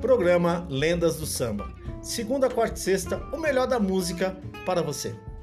programa Lendas do Samba. Segunda, quarta e sexta, o melhor da música para você.